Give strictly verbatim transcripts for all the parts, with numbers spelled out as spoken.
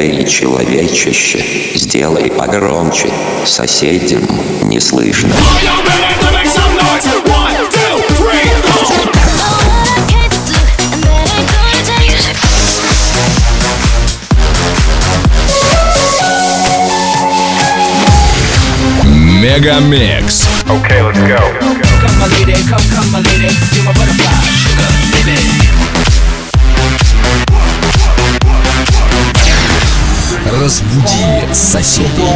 Эй, человечище, сделай погромче, соседям не слышно. Мегамикс. Okay, let's go. Come my lady, come, come my lady, you're my butterfly, sugar, baby. Разбуди соседей.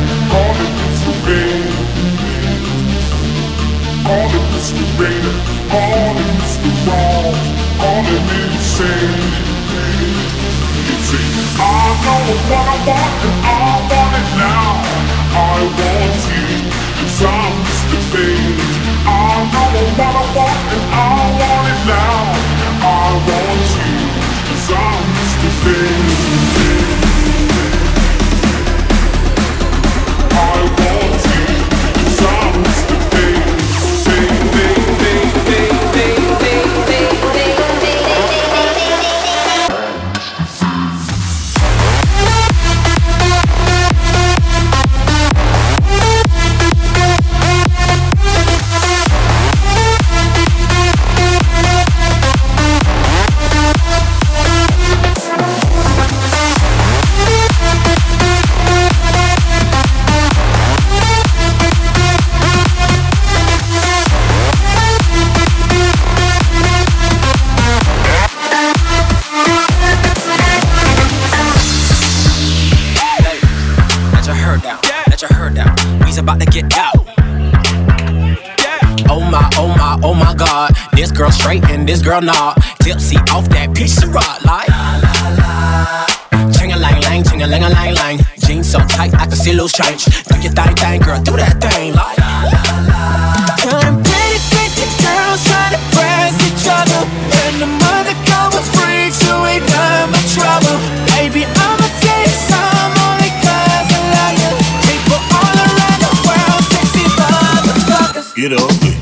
About to get out. Oh my, oh my, oh my God. This girl straight and this girl not. Tipsy off that piece of rock like ching-a-lang-lang, ching-a-lang-a-lang-lang. Jeans so tight I can see loose change. Do your thing, thing, girl, do that thing like Kind pretty, pretty girls trying to press each other. And the mother come with freaks who ain't done my trouble. Baby, I'ma take some only cause I love you. People all around the world, sexy motherfuckers. Get ugly.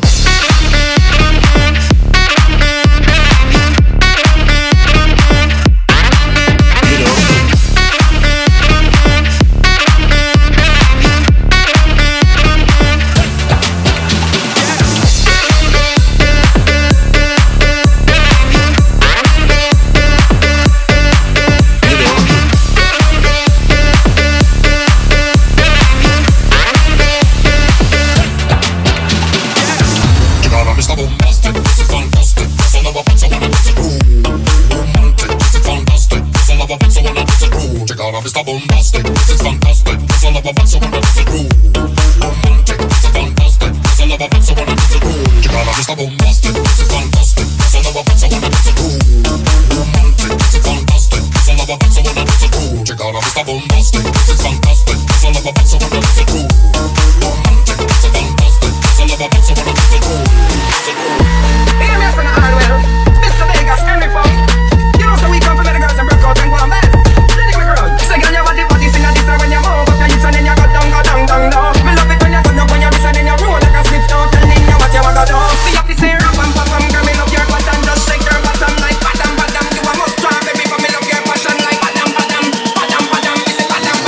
Mister Bombastic, this is fantastic. It's all about so wanna dance the groove. Romantic, this is fantastic. It's all about so wanna dance the groove. Chicana, Mister Bombastic, this is fantastic. It's all about so wanna dance the groove. Romantic, this is fantastic. It's all about so wanna dance the groove. Chicana, Mister Bombastic, this is fantastic. It's all about so wanna dance the groove. Romantic, this is fantastic. It's all about so wanna dance the groove. Hear me from the Hardwell, Mister Vegas, and me from. You know, so we come from the girls and break out and go on back. Say girl, your body body sing a this when you move up your hips and then you go down, go down, down, down. Me love it when you go down on your wrist and then you roll like a slip stone, telling you what you want to do. See up the say rap and pop and girl, me love your bottom, just shake your bottom like badam badam. You a must try, baby, but me love your passion like badam badam, badam badam. Me say badam badam.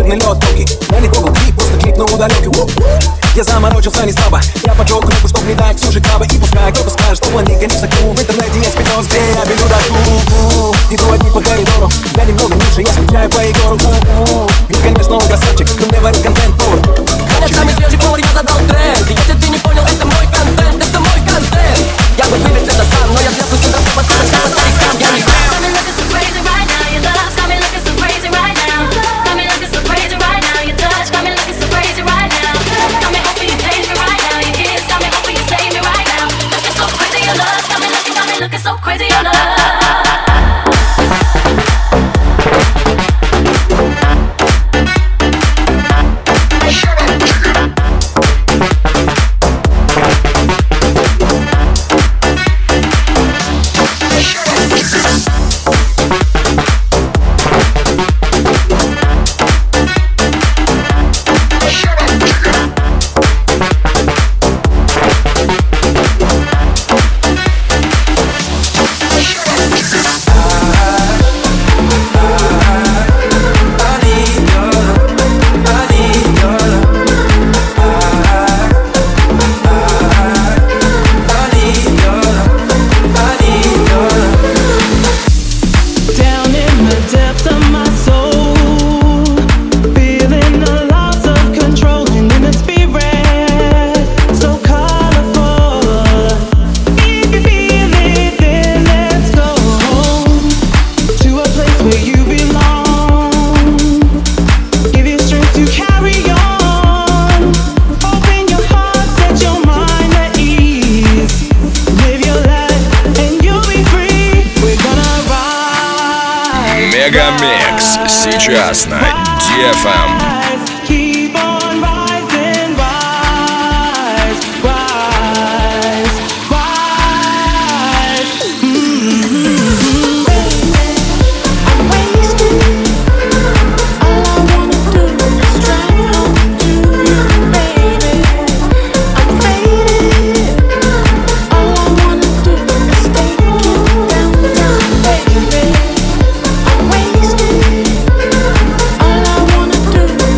черный лед тонкий. Я не трогал клип, просто клип на удаленке. Я заморочился не слабо, я поджег руку, чтоб не дать суши крабы. И пускай кто-то скажет, что планета не сокру. В интернете есть видос, где я белю доску. Иду одни по коридору, я немного ниже, я скучаю по Егору. И, конечно, он красавчик, но мне варит контент-тур. Конечно, мне свежий повар, я задал тренд. И если ты не понял, это мой контент, это мой контент. Я бы выбил это сам, но я взял пусть это повод, кто-то сказал, и сам я не сам. Got me looking so crazy right now, your love's got me looking so crazy right now. Got me looking so crazy right now, your touch got me looking so crazy right now. Got me hoping you change me right now, your kiss got me hoping you save me right now. Looking so crazy, your love's got me looking, got me looking so crazy, your love. Мегамикс сейчас на ди эф эм. All I wanna do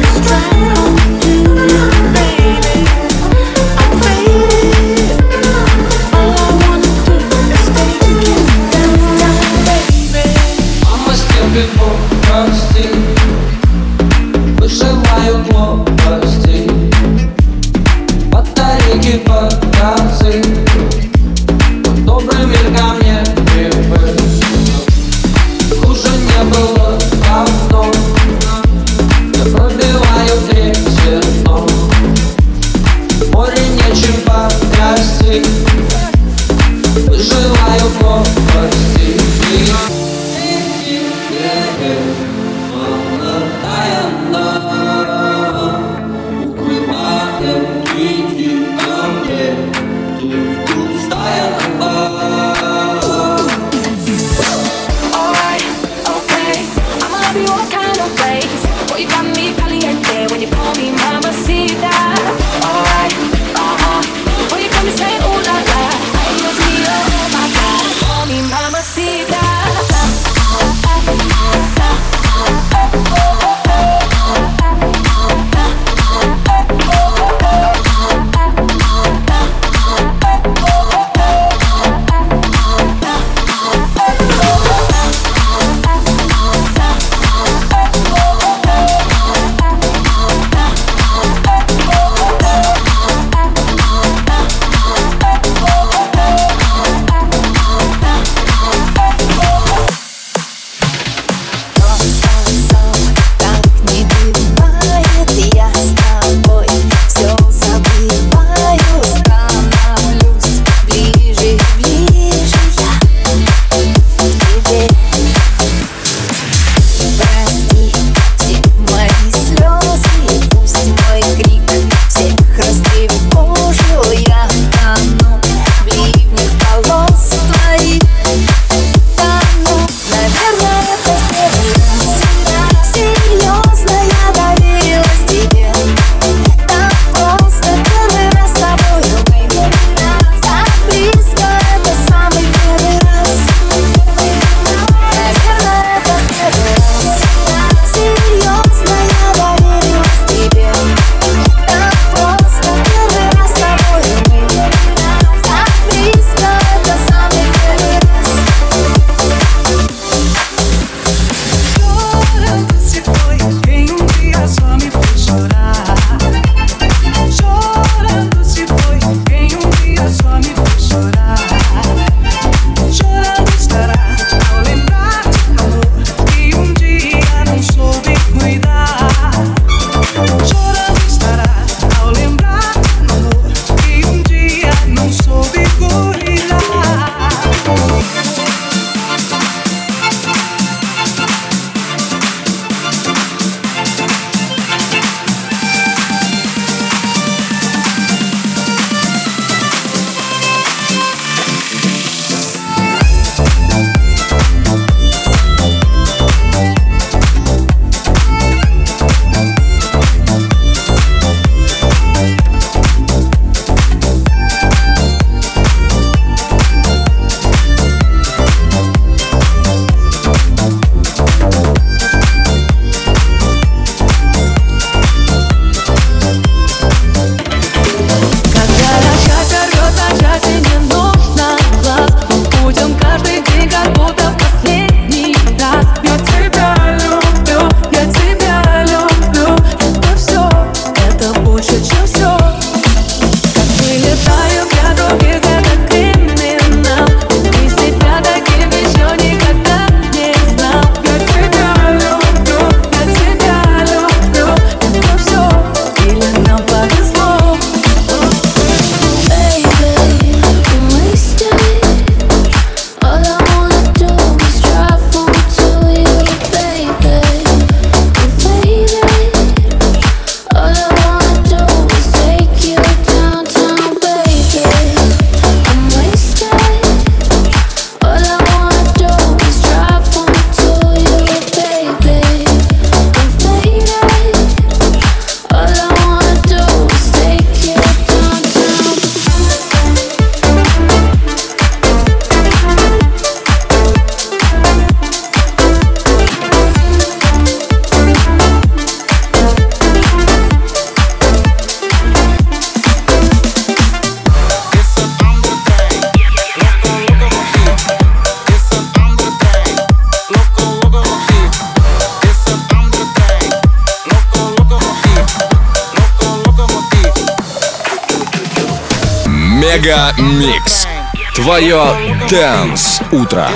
Мега Микс. Твое Dance утро.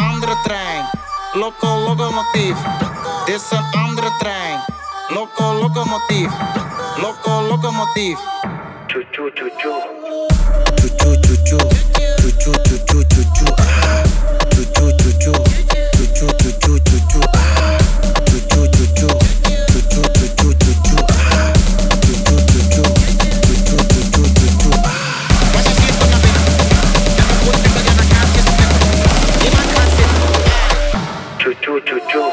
Loco, locomotief. Dit is een andere trein. Loco, locomotief. Loco, locomotief. Choo choo choo choo. Choo choo choo choo. Choo choo choo choo choo choo. Choo choo choo choo. Choo choo choo choo choo choo. Choo choo choo choo. Choo choo choo choo choo choo. Choo choo choo choo. Choo choo choo choo choo choo. Wat is hier van de binnen? En we moeten met een kaartje spelen. Niemand gaat zitten. Choo choo choo choo.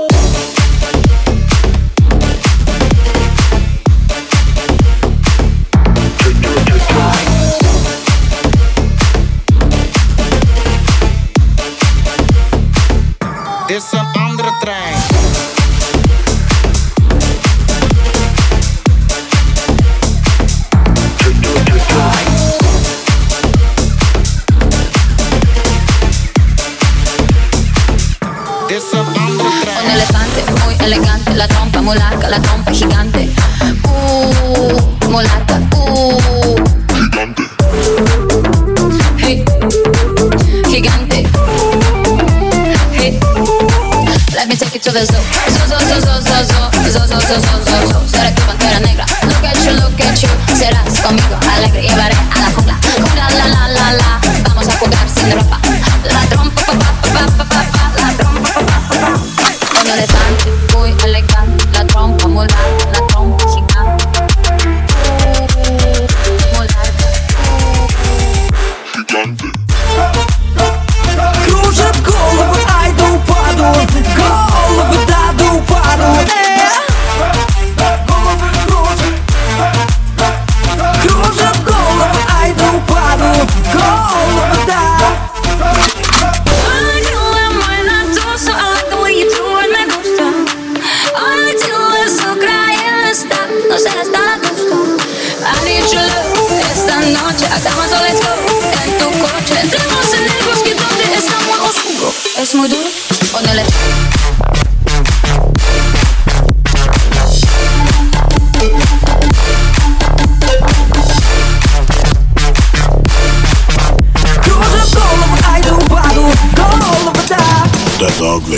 Dit is een andere trein. Dit is een andere trein. Un elefante muy elegante, la trompa muy larga, la trompa gigante. Uh, muy larga, uh. Gigante. Hey, gigante. Hey, let me take you to the zoo. Zoo, zoo, zoo, zoo, zoo, zoo, zoo, zoo, zoo, zoo, zoo, zoo. Seré tu pantera negra. Look at you, look at you. Serás conmigo alegre, llevaré a la jungla. Jungla, la, la, la, la. Vamos a jugar sin ropa. La trompa, pa, pa, pa, pa, pa, pa. La trompa, pa, pa, pa, pa. Un elefante muy elegante, la trompa muy larga, la trompa gigante. Uh, muy larga. Gigante. Кружат головы, ай да упаду. Головы, да, да упаду. Головы кружат. Кружат головы, ай да упаду. Головы, да. No seas tan gusto. I need your love. Esta noche hagamos un let's go. En tu coche entremos en el bosque donde está muy oscuro. Es muy duro. Ponele. Кружат головы, ай да упаду. Головы, да. That's ugly.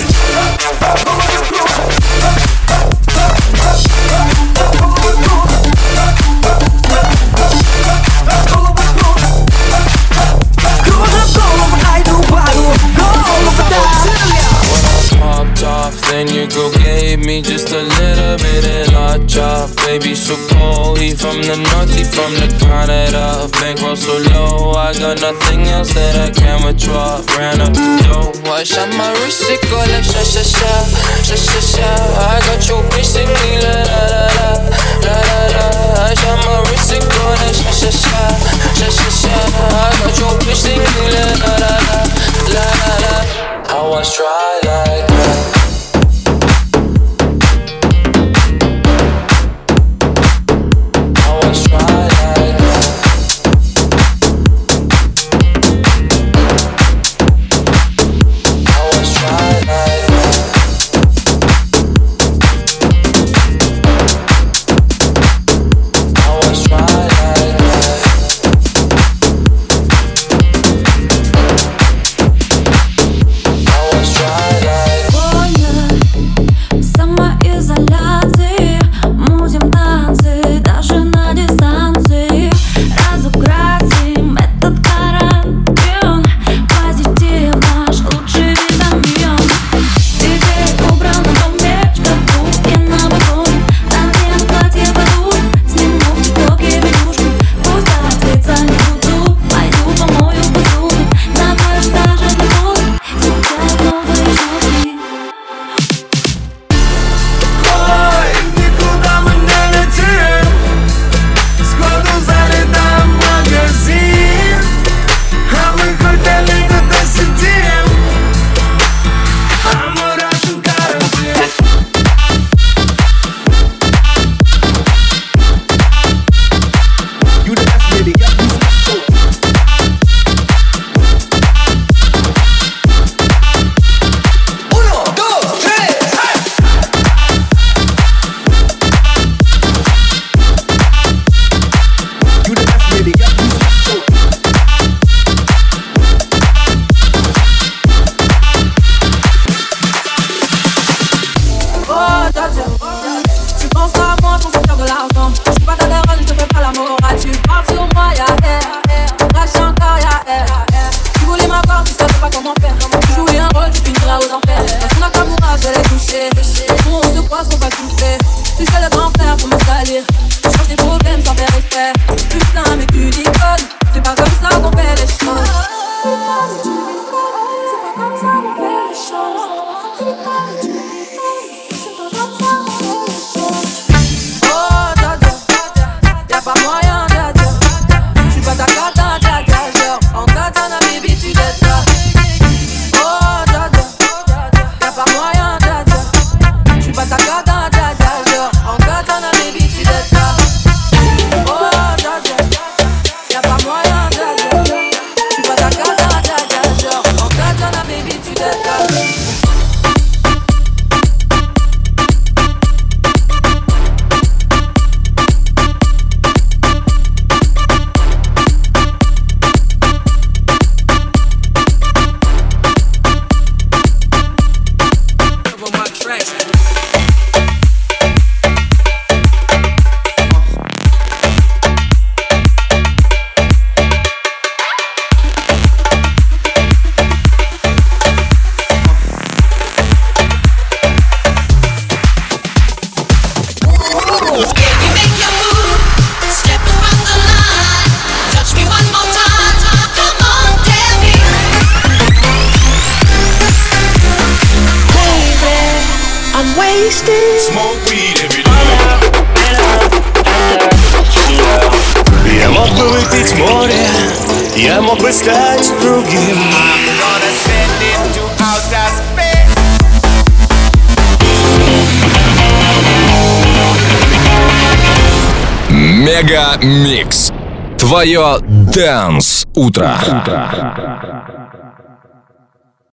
Then your girl gave me just a little bit of hot chop. Baby so cold, he from the north, he from the Canada. Bankroll so low, I got nothing else that I can withdraw. Ran up the dough, I shot my wrist, it go like sha sha sha, sha sha sha. I got your bitch singing la la la la, la la la. I shot my wrist, it go like sha sha sha, sha sha sha. I got your bitch singing la la la la, la la la. I was try like that. Smoke weed every day. Я мог бы выпить море, я мог бы стать другим. I'm gonna send it to outer space. Мега Микс. Твое Dance утро.